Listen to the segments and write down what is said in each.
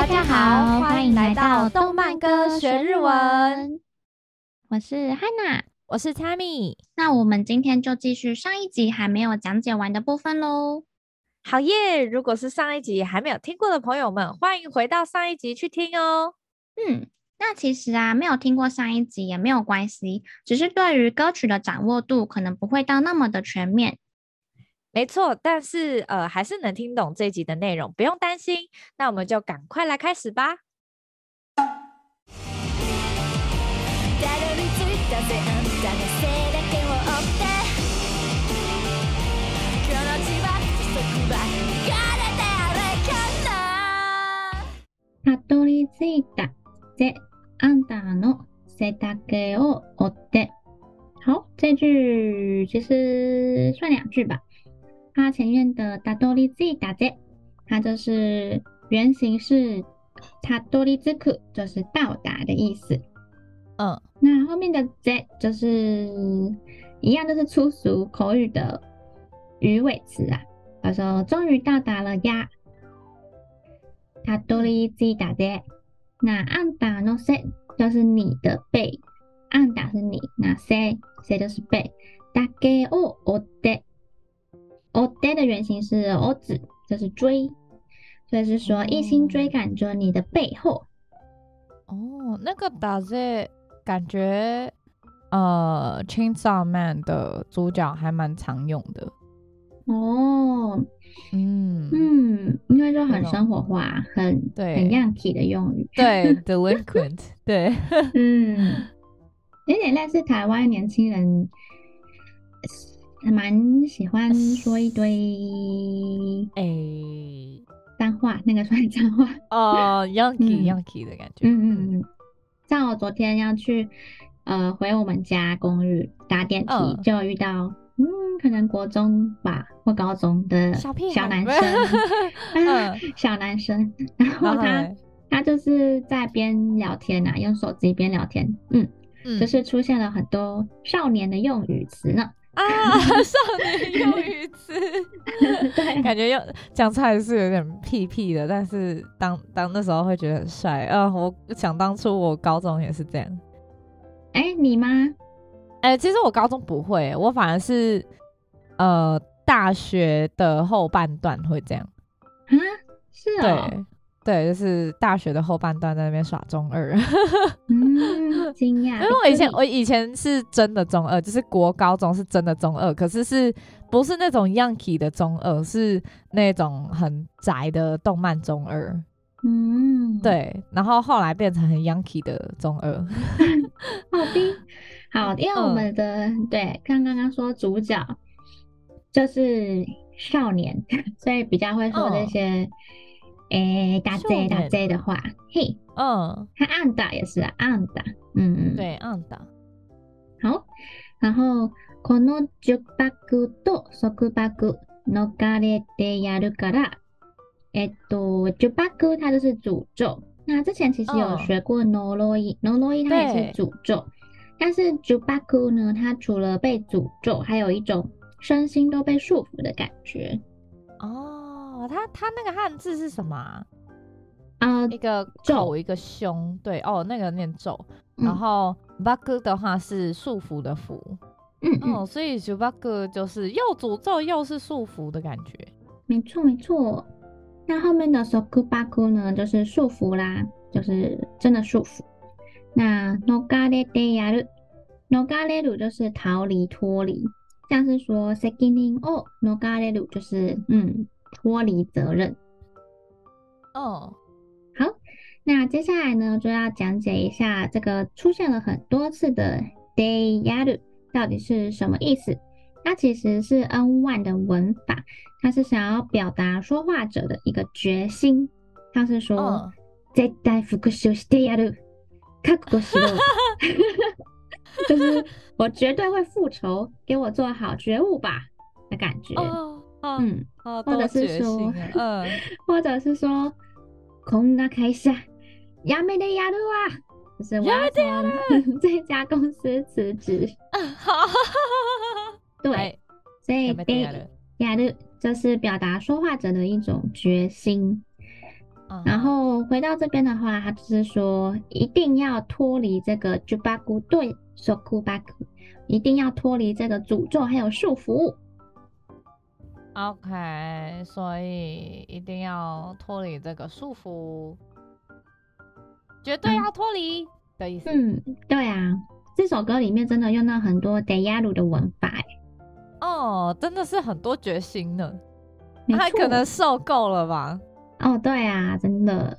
家好，歡迎來到動漫歌學日文。 我是 Hana， 我是 Tammy。 那我們今天就繼續上一集還沒有講解完的部分咯。 好耶！如果是上一集還沒有聽過的朋友們，歡迎回到上一集去聽哦。 那其實啊，沒有聽過上一集也沒有關係，只是對於歌曲的掌握度可能不會到那麼的全面。 沒錯，但是還是能聽懂這一集的內容，不用擔心。那我們就趕快來開始吧。 たどり着いたぜあんたの背丈を追って好，這句其實算兩句吧。它前面的たどり着いたぜ，它就是原型是たどり着く，就是到達的意思。那後面的ぜ就是一樣，就是粗俗口語的語尾詞啊。他說終於到達了呀。たどり着いたぜ。那あんたの背就是你的背，あんた是你，那背就是背。だけを追って追って的原型是追子，就是追，所以是說一心追趕着你的背後。 那個だぜ感覺Chainsaw Man 的主角還蠻常用的。 因為就很生活化，很 Yankee 的用語。 對，delinquent， 對， 有點類似台灣年輕人，蠻喜歡說一堆髒話，那個算髒話 Yankee 的感覺。 像我昨天要去回我們家公寓搭電梯，就遇到可能國中吧或高中的小男生，小男生，然後他就是在邊聊天啊，用手機邊聊天，就是出現了很多少年的用語詞呢。 少年用語詞，對，感覺講出來是有點屁屁的，但是當那時候會覺得很帥。我想當初我高中也是這樣。 你嗎？ 其實我高中不會，我反而是大學的後半段會這樣。 是哦。 對，就是大學的後半段在那邊耍中二。 驚訝。 因為我以前是真的中二，就是國高中是真的中二，可是不是那種 Yankee 的中二，是那種很宅的動漫中二。對，然後後來變成很 Yankee 的中二。好，因為我們的對剛剛說主角就是少年，所以比較會說這些大 J 的話。他あんた也是啊，あんた。 對，あんた。 好，然後この10拍と束拍逃れてやるから10拍它就是詛咒。那之前其實有學過呪い它也是詛咒。但是10拍呢，它除了被詛咒，還有一種身心都被束縛的感覺。 它那個漢字是什麼一個口一個胸，對那個念咒。然後拍的話是束縛的縛。所以10拍就是又詛咒又是束縛的感覺。 沒錯。那後面的束拍呢，就是束縛啦，就是真的束縛。那逃れてやる，逃れる就是逃離脫離，像是說責任を逃れる就是脫離責任。好，那接下來呢就要講解一下這個出現了很多次的でやる到底是什麼意思。它其實是 N1 的文法，它是想要表達說話者的一個決心，像是說絶対復讐してやる覚悟しろ就是我絕對會復仇，給我做好覺悟吧的感覺。或者是說或者是說こんな會社やめてやるわ，就是我要從這家公司辭職。對，所以でやる就是表達說話者的一種決心。 然後回到這邊的話，他就是說一定要脫離這個呪縛對束縛，一定要脫離這個詛咒還有束縛。 OK， 所以一定要脫離這個束縛，絕對要脫離的意思。 對啊，這首歌裡面真的用到很多 Deyaru 的文法哦，真的是很多決心呢。他可能受夠了吧？ 哦，對啊，真的。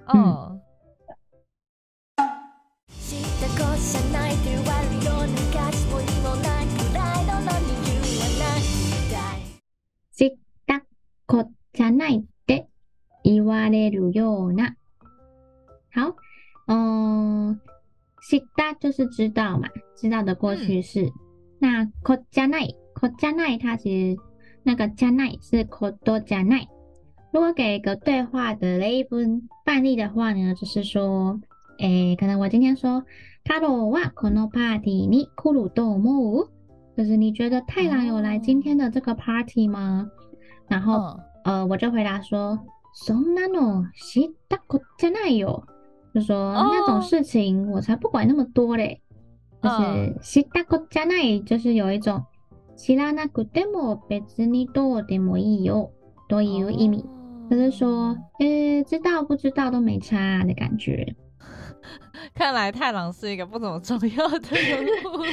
知ったこじゃないって言われるような。好，知った就是知道嘛，知道的過去式。那こじゃない，它其實那個じゃない是ことじゃない。如果給一個對話的例文範例的話呢，就是說，可能我今天說，太郎はこのパーティーに來ると思う？就是你覺得太郎有來今天的這個 party 嗎？然後，我就回答說，そんなの知ったこっちゃないよ。就說那種事情我才不管那麼多嘞。就是知ったこっちゃない就是有一種知らなくても別にどうでもいいよという意味。就是說，知道不知道都沒差的感覺。 看來太郎是一個不怎麼重要的人物。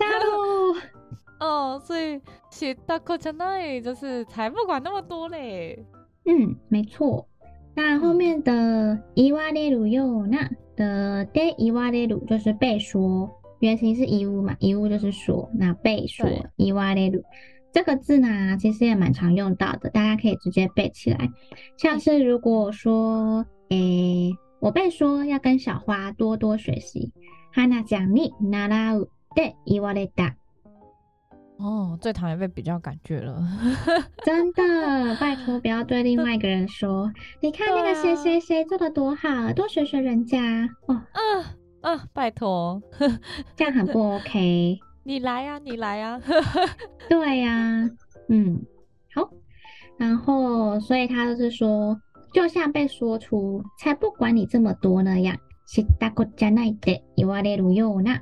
所以知ったこっちゃない就是才不管那麼多嘞。 沒錯。那後面的言われるような的で言われる就是被說，原型是言う嘛，言う就是說，那被說言われる。這個字呢，其實也蠻常用到的，大家可以直接背起來。像是如果說，我被說要跟小花多多學習。花ちゃんに習うって言われた。 最討厭被比較感覺了。 真的，拜託不要對另外一個人說，你看那個誰誰誰做得多好，多學學人家。 拜託， 這樣很不 OK。 你來呀，你來呀。 對呀，好。然後，所以他就是說，就像被說出，才不管你這麼多那樣。知ったこっちゃないって言われるような。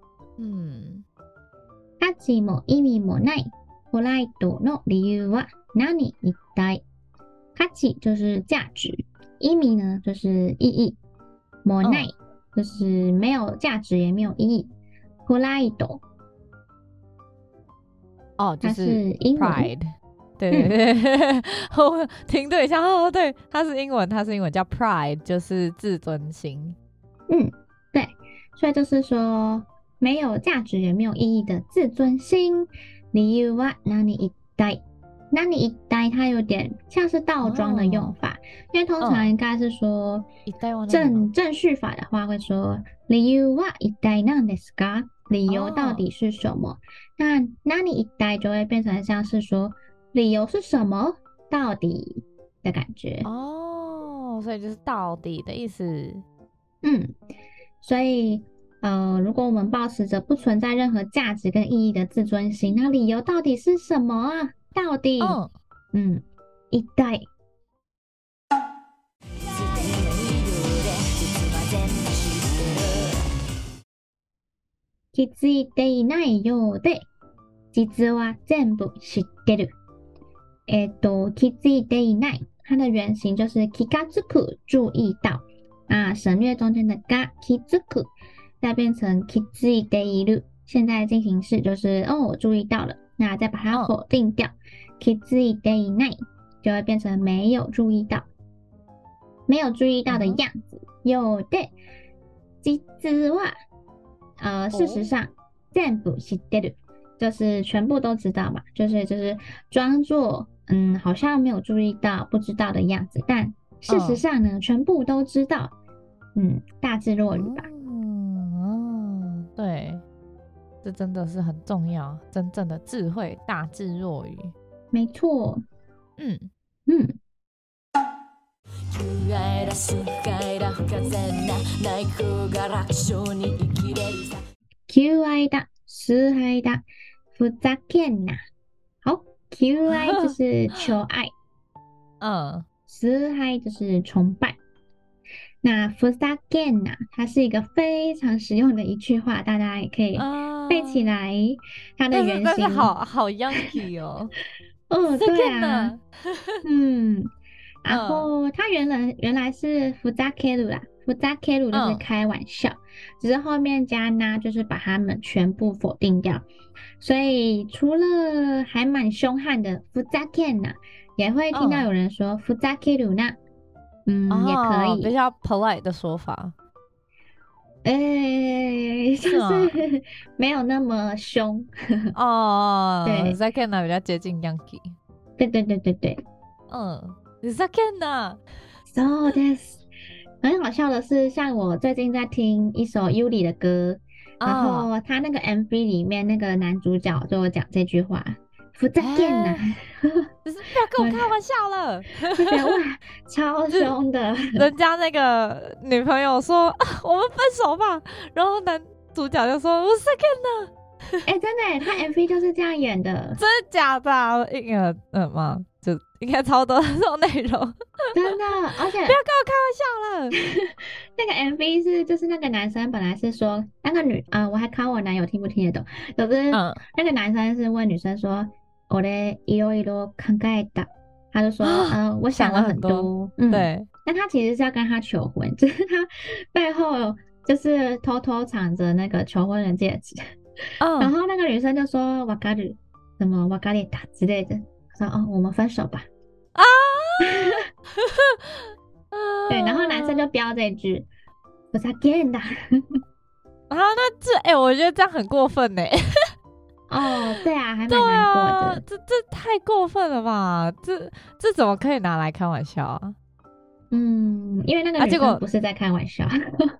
価値も意味もないポライトの理由は何一體？価値就是價值，意味呢就是意義，もない就是沒有價值也沒有意義。ポライト就是 pride， 對，我停頓一下，對，它是英文叫 pride， 就是自尊心。 對，所以就是說沒有價值也沒有意義的自尊心。理由は何一體？何一體它有點像是倒裝的用法，因為通常應該是說正序法的話會說理由は一體なんですか？理由到底是什麼？那何一體就會變成像是說理由是什麼？到底的感覺。 所以就是到底的意思。 所以如果我們抱持着不存在任何價值跟意義的自尊心，那理由到底是什麼啊？到底一體。気づいていないようで、実は全部知ってる。気づいていない，它的原型就是気がつく，注意到啊，省略中間的が気づく，再變成気づいている。現在進行式就是我注意到了，那再把它否定掉，気づいていない就會變成沒有注意到，沒有注意到的樣子。ようで、実は事實上全部知ってる就是全部都知道嘛，就是裝作好像沒有注意到不知道的樣子，但事實上呢全部都知道。大智若愚吧。 對，這真的是很重要，真正的智慧，大智若愚。 沒錯。求愛だ、崇愛だ、ふざけんな。好，求愛就是求愛，崇愛就是崇拜。 那ふざけんな它是一個非常實用的一句話，大家也可以背起來。它的原型但是好 Yankee 哦。 對啊，然後它原來是ふざける啦，ふざける就是開玩笑，只是後面加な就是把它們全部否定掉，所以除了還蠻兇悍的ふざけんな，也會聽到有人說ふざけるな。也可以， 比較 polite 的說法。 就是沒有那麼兇。對， ふざけんな比較接近 Yankee。 對。 ふざけんな。 そうです。很好笑的是，像我最近在聽一首 Yuri 的歌，然後他那個 MV 裡面那個男主角就講這句話。ふざけんな， 就是不要跟我開玩笑了。 就覺得哇，超兇的。 人家那個女朋友說我們分手吧，然後男主角就說ふざけんな。 真的，他 MV 就是這樣演的。 真的假的啊？就應該超多這種內容。 真的，而且不要跟我開玩笑了。 那個 MV 是就是那個男生本來是說那個我還考我男友聽不聽得懂，就是那個男生是問女生說我いろいろ考えた，他就說我想了很多。對，那他其實是要跟他求婚，就是他背後就是偷偷藏着那個求婚的戒指。然後那個女生就說わかる什麼わかれた之類的，說我們分手吧。對，然後男生就標這句ふざけんな。 那我覺得這樣很過分呢。 對啊，還蠻難過的。 這太過分了吧？這怎麼可以拿來開玩笑啊？ 因為那個女生不是在開玩笑。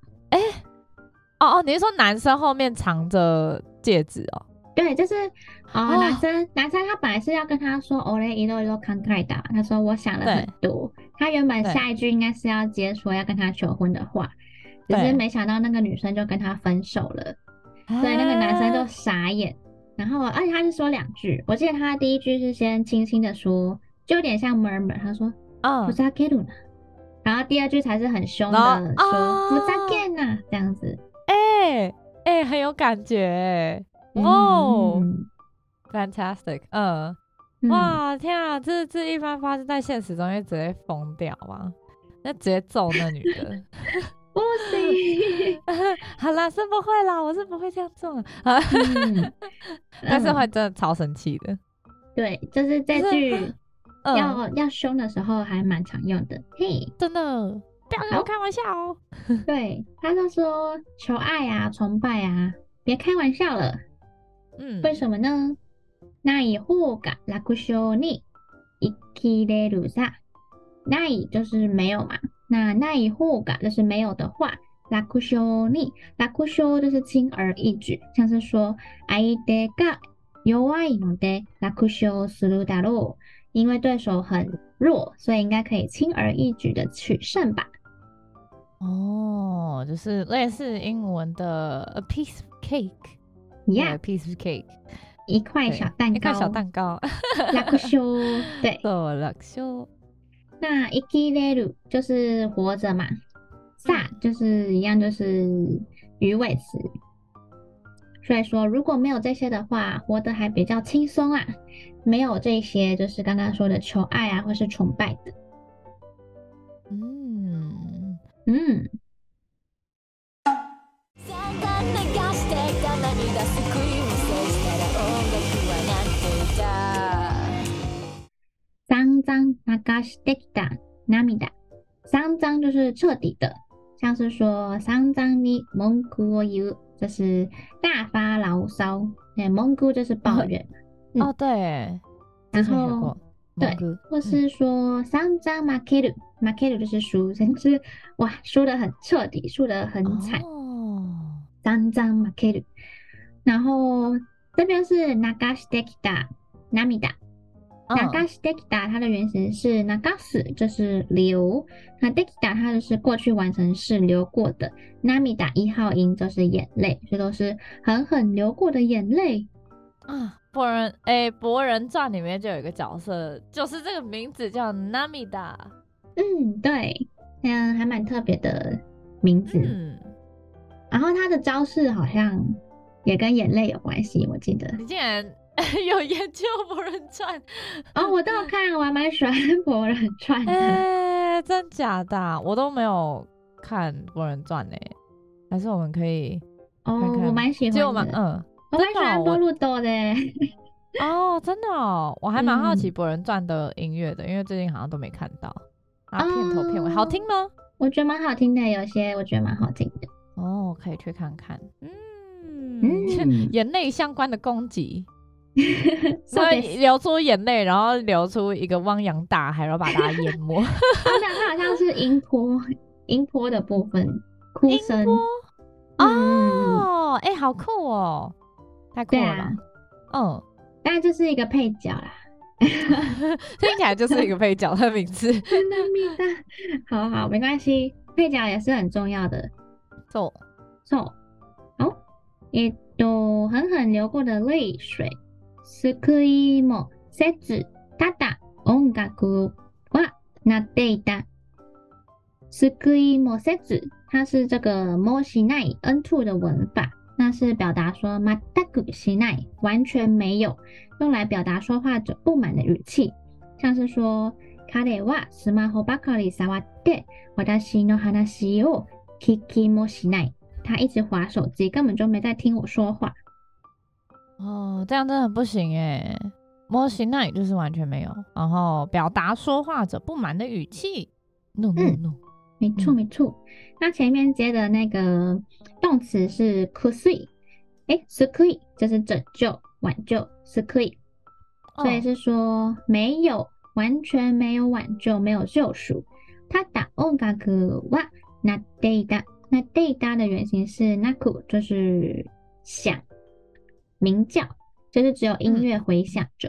你是說男生後面藏着戒指哦？對， 就是男生他本來是要跟他說俺いろいろ考えた，他說我想了很多。他原本下一句應該是要接說要跟他求婚的話，只是沒想到那個女生就跟他分手了，所以那個男生就傻眼。然後而且他是說2句，我記得他第一句是先輕輕的說，就有點像 murmur， 他說ふざけるな，然後第2句才是很兇的說ふざけんな這樣子。 很有感覺，Fantastic， 哇，天啊，這一般發生在現實中，會直接瘋掉嗎？那直接揍那女的。 不行。 好啦，是不會啦，我是不會這樣做。但是會真的超生氣的。對，就是這句要凶的時候還蠻常用的。嘿， 真的。不要跟我開玩笑哦。 對，他就說求愛啊，崇拜啊，別開玩笑了。為什麼呢？ない方が楽勝に生きれるさ。ない就是沒有嘛，那ない方が就是沒有的話，楽勝に，楽勝就是輕而易舉，像是說相手が弱いので楽勝するだろう，因為對手很弱，所以應該可以輕而易舉的取勝吧。 就是類似英文的 a piece of cake，a piece of cake， 一塊小蛋糕， 一塊小蛋糕， 楽勝，對， 楽勝。 那生きれる就是活着嘛，さ就是一樣，就是魚尾詞。所以說如果沒有這些的話，活得還比較輕鬆啊。沒有這些，就是剛剛說的求愛啊，或是崇拜的。散々流してきた涙，散々就是徹底的，像是說散々に文句を言う，就是大發牢騷。文句就是抱怨。 對， 然後對，或是說散々負ける，負ける就是輸，就是哇，輸得很徹底，輸得很慘。散々負ける。然後這邊是流してきた涙。流してきた它的原型是流す，就是流。那できた它就是過去完成式，流過的。涙1號音就是眼淚，所以都是狠狠流過的眼淚啊。博人傳裡面就有一個角色，就是這個名字叫涙。 對， 還蠻特別的名字。然後他的招式好像也跟眼淚有關係，我記得。 你竟然有研究《博人傳》？ 哦，我都有看，我還蠻喜歡《博人傳》的。 真假的？我都沒有看《博人傳》呢，還是我們可以看看？ 我蠻喜歡的。我蠻喜歡多魯多的。 真的哦，我還蠻好奇《博人傳》的音樂的，因為最近好像都沒看到。然後片頭片尾好聽嗎？ 我覺得蠻好聽的，有些我覺得蠻好聽的。 可以去看看。眼淚相關的攻擊，所以流出眼淚，然後流出一個汪洋大海，然後把大家淹沒。 它好像是音波的部分，哭聲。 好酷哦，太酷了吧。 但就是一個配角啦。 聽起來就是一個配角的名字。 好，沒關係，配角也是很重要的。好，狠狠流過的淚水。救いもせず、ただ音楽は鳴っていた。救いもせず，它是這個もしない N2 的文法，那是表達說全くしない，完全沒有，用來表達說話者不滿的語氣，像是說彼はスマホばかり觸って私の話を聞きもしない。他一直滑手機，根本就沒在聽我說話。 這樣真的很不行耶。もしない就是完全沒有，然後表達說話者不滿的語氣。No， 沒錯。那前面接的那個動詞是救い，救い就是拯救、挽救，救い，所以是說沒有，完全沒有挽救，沒有救贖。ただ音楽は鳴っていた。那data 的原型是 naku， 就是響、鳴叫，就是只有音樂回響着。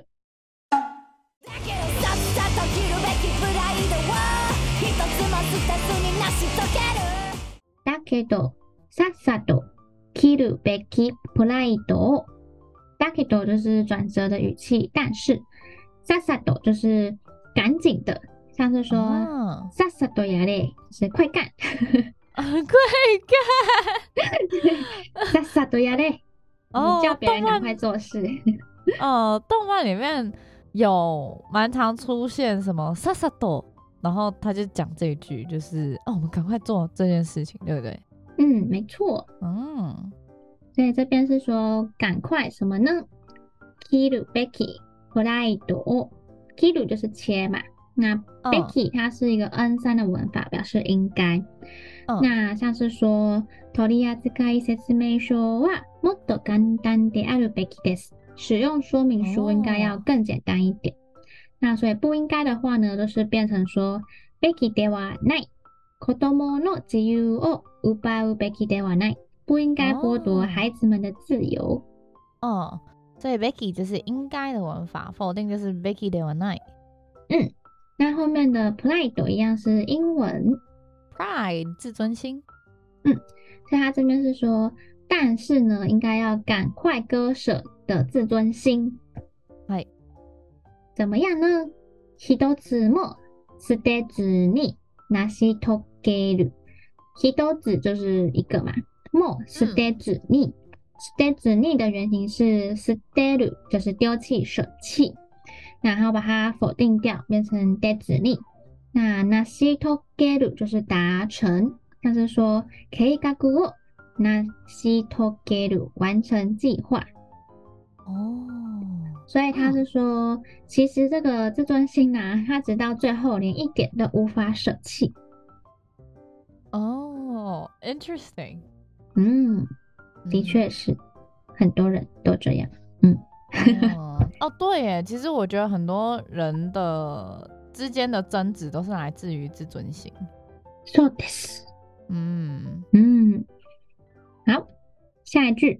だけどさっさと切るべきプライドを。だけど就是轉折的語氣，但是さっさと就是趕緊的，像是說さっさとやれ就是快幹。 快幹！ さっさとやれ，叫別人趕快做事。 動漫裡面有蠻常出現什麼さっさと，然後他就講這一句，就是我們趕快做這件事情，對不對？ 沒錯。所以這邊是說趕快什麼呢？切るべきプライドを，切る就是切嘛，那べき它是一個 N3 的文法，表示應該。那像是說取扱説明書はもっと簡單であるべきです。使用說明書應該要更簡單一點。那所以不應該的話呢，就是變成說べきではない。子供の自由を奪うべきではない。不應該剝奪孩子們的自由。 所以べき就是應該的文法，否定就是べきではない。 那後面的 pride 一樣是英文。 Pride 自尊心， 所以他這邊是說，但是呢，應該要趕快割捨的自尊心。怎麼樣呢？一つも捨てずに成し遂げる。一つ就是一個嘛，も捨てずに，捨てずに的原型是捨てる，就是丟棄、捨棄，然後把它否定掉，變成でずに。那成し遂げる就是達成，像是說計畫を成し遂げる，完成計劃。所以他是說，其實這個自尊心啊，他直到最後連一點都無法捨棄。 Interesting。 的確是，很多人都這樣。 對耶，其實我覺得很多人的之間的爭執都是來自於自尊心。 そうです。好，下一句。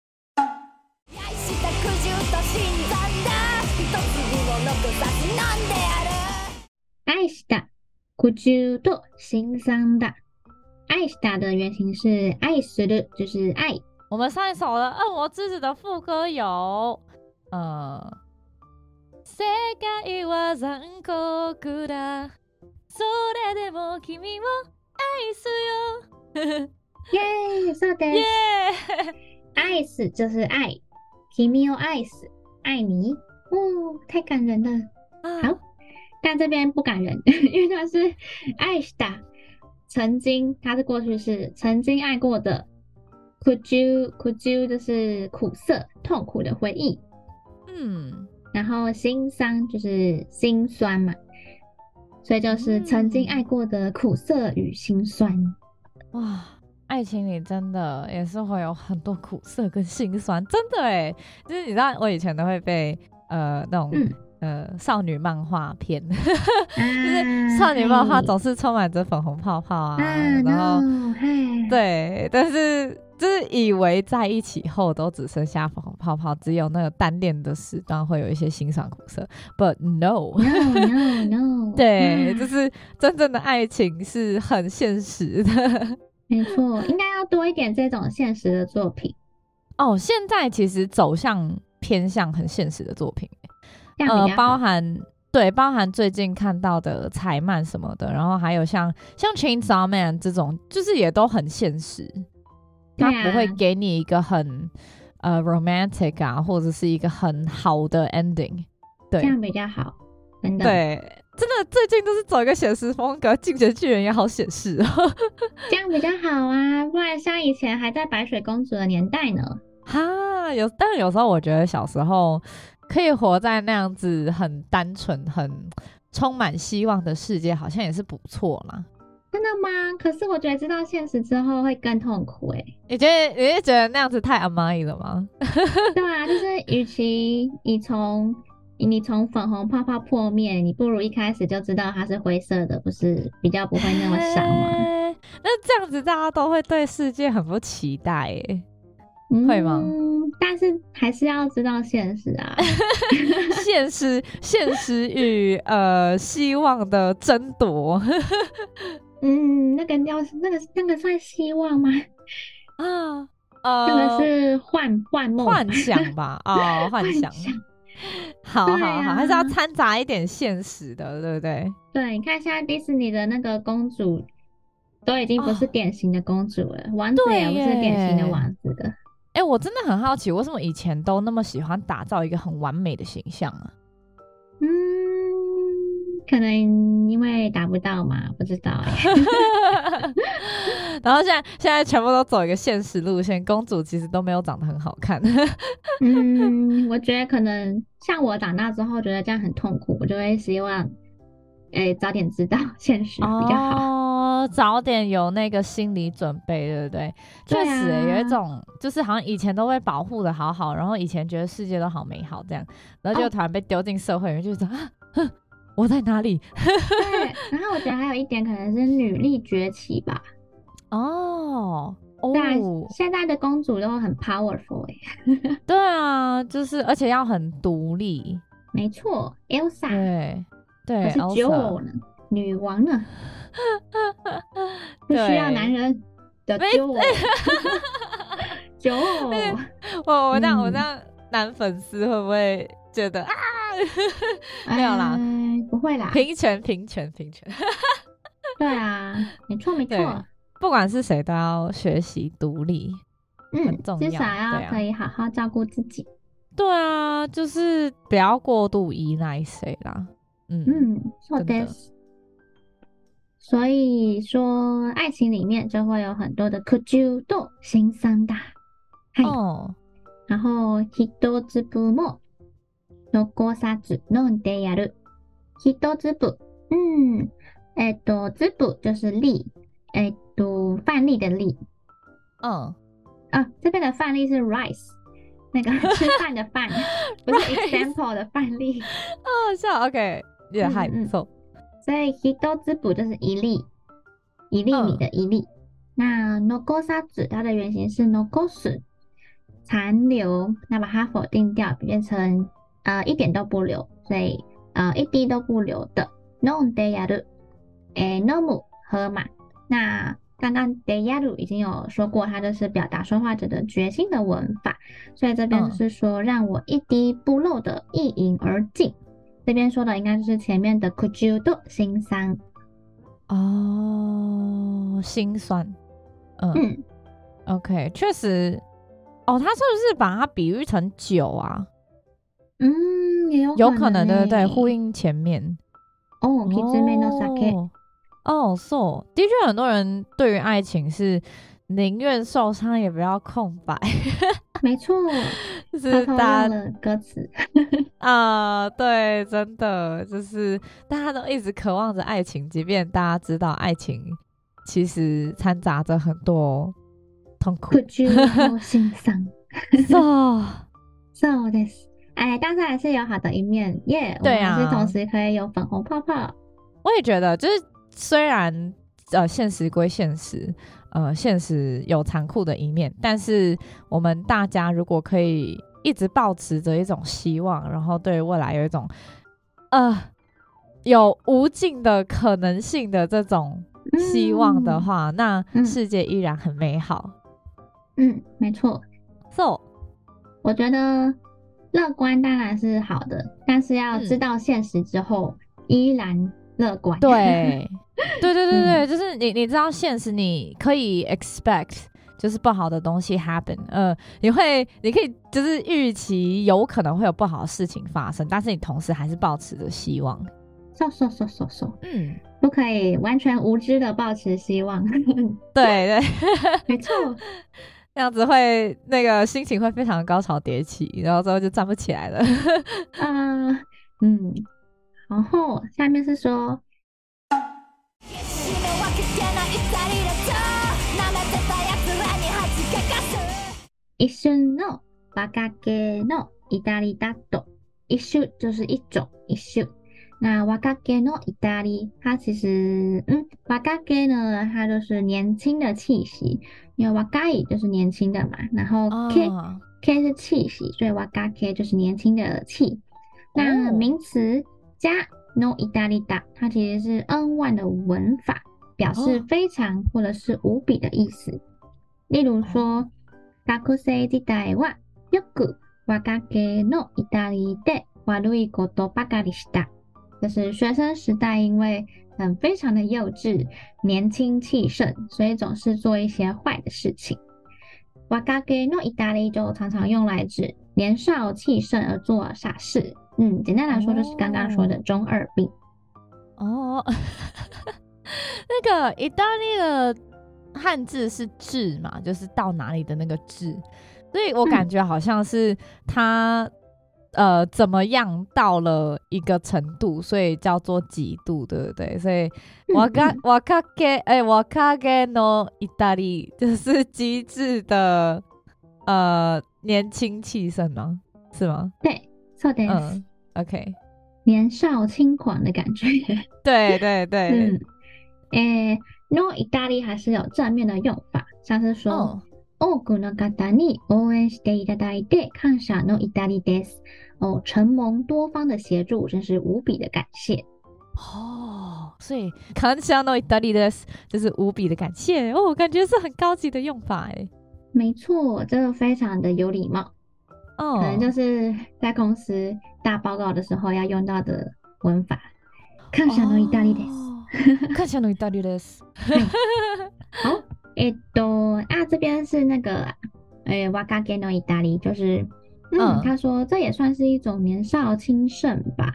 愛した苦渋と辛酸だ。愛した的原型是愛する，就是愛。 我們上一首的《惡魔之子》的副歌有世界は残酷だそれでも君を愛すよ。 耶，そうです。 耶， 愛す就是愛，君を愛す，愛你。哦，太感人了。好，但這邊不感人，因為它是愛した曾經，它是過去式，曾經愛過的。could you 就是苦澀、痛苦的回憶。然後心傷就是心酸嘛，所以就是曾經愛過的苦澀與心酸。 哇，愛情裡真的也是會有很多苦澀跟心酸，真的耶。就是你知道我以前都會被那種少女漫畫片，就是少女漫畫總是充滿着粉紅泡泡啊，然後對，但是就是以為在一起後都只剩下粉紅泡泡，只有那個單戀的時段會有一些辛酸苦澀 ，but no， 對，就是真正的愛情是很現實的。 沒錯，應該要多一點這種現實的作品。 哦，現在其實走向偏向很現實的作品，包含最近看到的彩漫什麼的，然後還有像 Chainsaw Man 這種，就是也都很現實。他不會給你一個很romantic 啊，或者是一個很好的 ending， 對， 這樣比較好，真的。 對，真的最近都是走一個寫實風格，進擊的巨人也好寫實哦， 這樣比較好啊，不然像以前還在白雪公主的年代呢。 哈，但是有時候我覺得小時候可以活在那樣子很單純、很充滿希望的世界，好像也是不錯啦。 真的嗎？可是我覺得知道現實之後會更痛苦欸。 你是覺得那樣子太甘い了嗎？ 對啊，就是與其你從粉紅泡泡破滅，你不如一開始就知道它是灰色的，不是比較不會那麼傷嗎？ 那這樣子大家都會對世界很不期待耶，會嗎？ 但是還是要知道現實啊。 現實與希望的爭奪。 那個算希望嗎？那個是幻夢、 幻想吧？哦，幻想。好，還是要摻雜一點現實的，對不對？ 對，你看現在迪士尼的那個公主都已經不是典型的公主了，王子也不是典型的王子了。 我真的很好奇，為什麼以前都那麼喜歡打造一個很完美的形象啊？ 可能因為達不到嘛，不知道然後現在全部都走一個現實路線，公主其實都沒有長得很好看。 我覺得可能像我長大之後覺得這樣很痛苦，我就會希望早點知道現實比較好， 早點有那個心理準備，對不對？確實有一種就是好像以前都被保護的好好，然後以前覺得世界都好美好這樣，然後就突然被丟進社會裡面，就是我在哪裡？ 對，然後我覺得還有一點可能是女力崛起吧。對，現在的公主都很 powerful 對啊，就是而且要很獨立。 沒錯 ，Elsa。 對， 可是酒偶呢，女王呢，不需要男人的酒偶。酒偶， 我這樣男粉絲會不會覺得沒有啦， 不會啦， 平權。 對啊，沒錯， 不管是誰都要學習獨立，很重要， 至少要可以好好照顧自己。 對啊，就是不要過度依賴誰啦。 そうです。所以說，愛情裡面就會有很多的苦衷と辛酸だ。然後一粒も残さず飲んでやる。一粒，粒就是粒，飯粒的粒。這邊的飯粒是 rice， 那個吃飯的飯，不是 example 的飯粒。 好笑 ，OK。也還不錯， 所以一粒就是一粒米的一粒。那残さず它的原型是残す，殘留，那把它否定掉，變成一點都不留，所以一滴都不留的。飲んでやる，飲む喝嘛。那剛剛でやる已經有說過，它就是表達說話者的決心的文法，所以這邊就是說讓我一滴不漏的一飲而盡。這邊說的應該就是前面的苦衷と辛酸。 哦，心酸。OK， 確實。哦，他是不是把它比喻成酒啊？ 也有可能，對对對，呼應前面。 哦 Kizume no sake。 哦，so 的確，很多人對於愛情是寧願受傷也不要空白。 沒錯， 就是大家的歌詞啊，對，真的就是大家都一直渴望着愛情，即便大家知道愛情其實摻雜着很多痛苦、 苦劇和心傷。So this， 但是還是有好的一面耶。對啊，我們還是同時可以有粉紅泡泡。 我也覺得，就是雖然現實歸現實，現實有殘酷的一面，但是我們大家如果可以一直抱持着一種希望，然後對未來有一種有無盡的可能性的這種希望的話，那世界依然很美好。 沒錯。So， 我覺得樂觀當然是好的，但是要知道現實之後，依然樂觀。對，就是你知道現實，你可以 expect 就是不好的東西 happen， 你可以就是預期有可能會有不好的事情發生，但是你同時還是抱持着希望。不可以完全無知的抱持希望。對，沒錯。 這樣子會那個心情會非常的高潮迭起，然後之後就站不起來了。 然後下面是說，一瞬の若気の至りだと，一瞬就是一種一瞬。那若気の至り，它其實若気呢，它就是年輕的氣息，因為若い就是年輕的嘛，然後気是氣息，所以若気就是年輕的氣。那名詞加の至りだ，它其實是 N1 的文法，表示非常或者是無比的意思。例如說，學生時代はよく若気の至りで悪いことばかりした。就是學生時代，因為非常的幼稚、年輕氣盛，所以總是做一些壞的事情。若気の至り就常常用來指年少氣盛而做傻事。簡單來說就是剛剛說的中二病。 那個意大利的漢字是至嘛，就是到哪裡的那個至，所以我感覺好像是他怎麼樣到了一個程度，所以叫做幾度，對不對？所以若気の至り就是機智的年輕氣盛嗎？是嗎？ 對，そうです。 OK， 年少輕狂的感覺。 對。 の至り還是有正面的用法，像是說，多くの方に応援していただいて感謝の至りです。承蒙多方的協助，真是無比的感謝。 所以感謝の至りです就是無比的感謝。感覺是很高級的用法誒。 沒錯，這個非常的有禮貌。可能就是在公司大報告的時候要用到的文法。感謝の至りです。 感謝の至りです。 好，這邊是那個若気の至り，就是他說這也算是一種年少輕盛吧。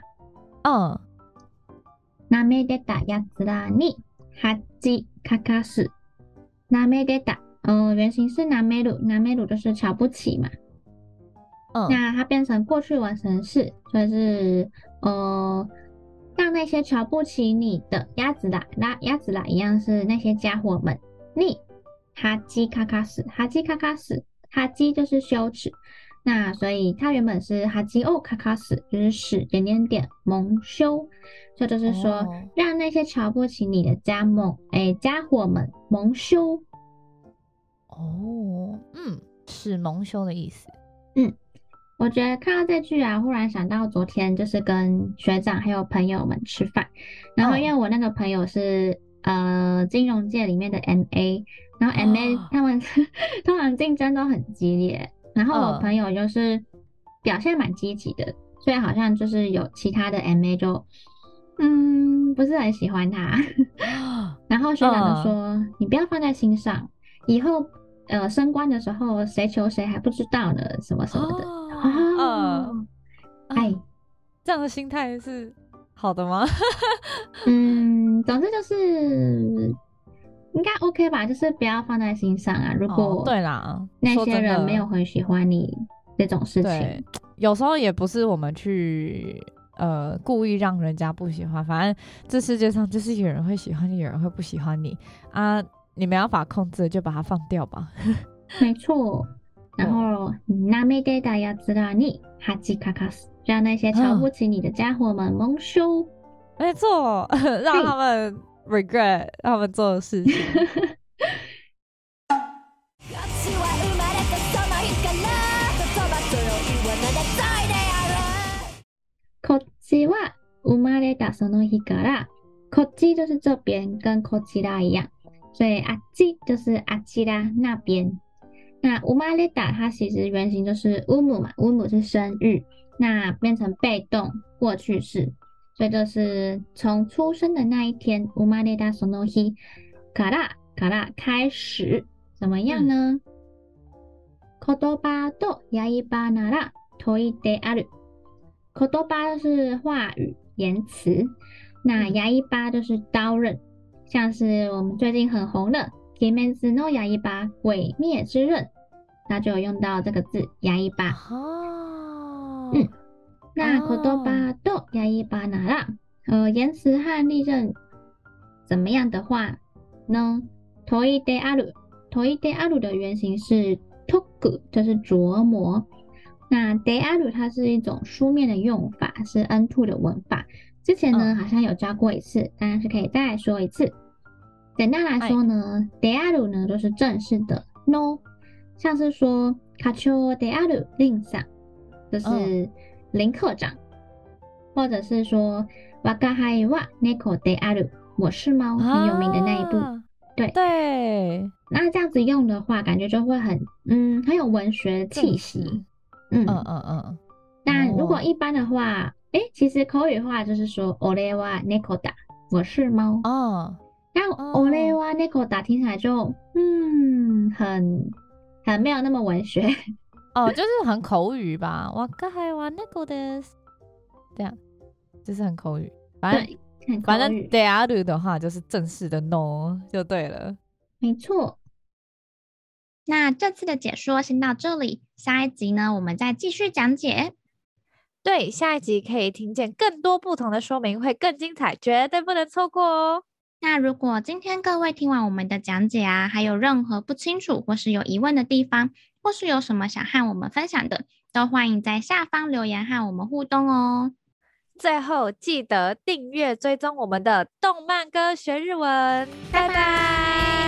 なめでたやつらに恥かかす。なめでた，原型是なめる，なめる就是瞧不起嘛。那它變成過去完成式，所以是讓那些瞧不起你的やつら一樣是那些家伙們。你恥かかす，恥かかす，恥就是羞恥。那所以它原本是恥をかかす，就是使蒙羞，這就是說讓那些瞧不起你的家伙們蒙羞。 使蒙羞的意思。 我覺得看到這句啊，忽然想到昨天就是跟學長還有朋友們吃飯，然後因為我那個朋友是金融界裡面的 MA， 然後 MA 他們通常競爭都很激烈，然後我朋友就是表現蠻積極的，所以好像就是有其他的 MA 就不是很喜歡他。然後學長就說：“你不要放在心上，以後升官的時候誰求誰還不知道呢，什麼什麼的。”哎， 這樣的心態是好的嗎？ 總之就是應該 OK 吧，就是不要放在心上啊。如果對啦， 那些人沒有很喜歡你這種事情， 有時候也不是我們去故意讓人家不喜歡，反正這世界上就是有人會喜歡你，有人會不喜歡你啊，你沒辦法控制，就把它放掉吧。 沒錯。然後なめてたやつらに恥かかす，讓那些瞧不起你的家伙們蒙羞。 沒錯，讓他們 regret 他們做的事情。 こっちは生まれたその日から，こっち就是這邊，跟こちら一樣，所以あっち就是あちら那邊。那生まれた它其實原型就是産む嘛，産む是生育，那變成被動過去式，所以就是從出生的那一天，生まれたその日から開始，怎麼樣呢？言葉と刃なら問いである。言葉就是話語言辭，那刃就是刀刃，像是我們最近很紅的鬼滅之刃鬼滅之刃，那就有用到這個字刃。那言葉と刃なら言辭和利刃怎麼樣的話呢？問いである，問いである的原型是解く，就是琢磨。那 de aru 它是一種書面的用法，是 N2 的文法。之前呢好像有教過一次，當然是可以再來說一次。簡單來說呢，de aru 呢就是正式的 no， 像是說課長である林さん，就是林課長，或者是說我が輩は猫である，我是貓，很有名的那一部。對，那這樣子用的話，感覺就會很有文學氣息。但如果一般的話，其實口語化就是說俺は猫だ，我是貓。但俺は猫だ聽起來就很沒有那麼文學。 就是很口語吧。我が輩は猫です，這樣就是很口語。反正である的話就是正式的 no 就對了。 沒錯。那這次的解說先到這裡，下一集呢，我們再繼續講解。 對，下一集可以聽見更多不同的說明，會更精彩，絕對不能錯過哦。 那如果今天各位聽完我們的講解啊，還有任何不清楚或是有疑問的地方，或是有什麼想和我們分享的，都歡迎在下方留言和我們互動哦。 最後記得訂閱追蹤我們的動漫歌學日文，拜拜。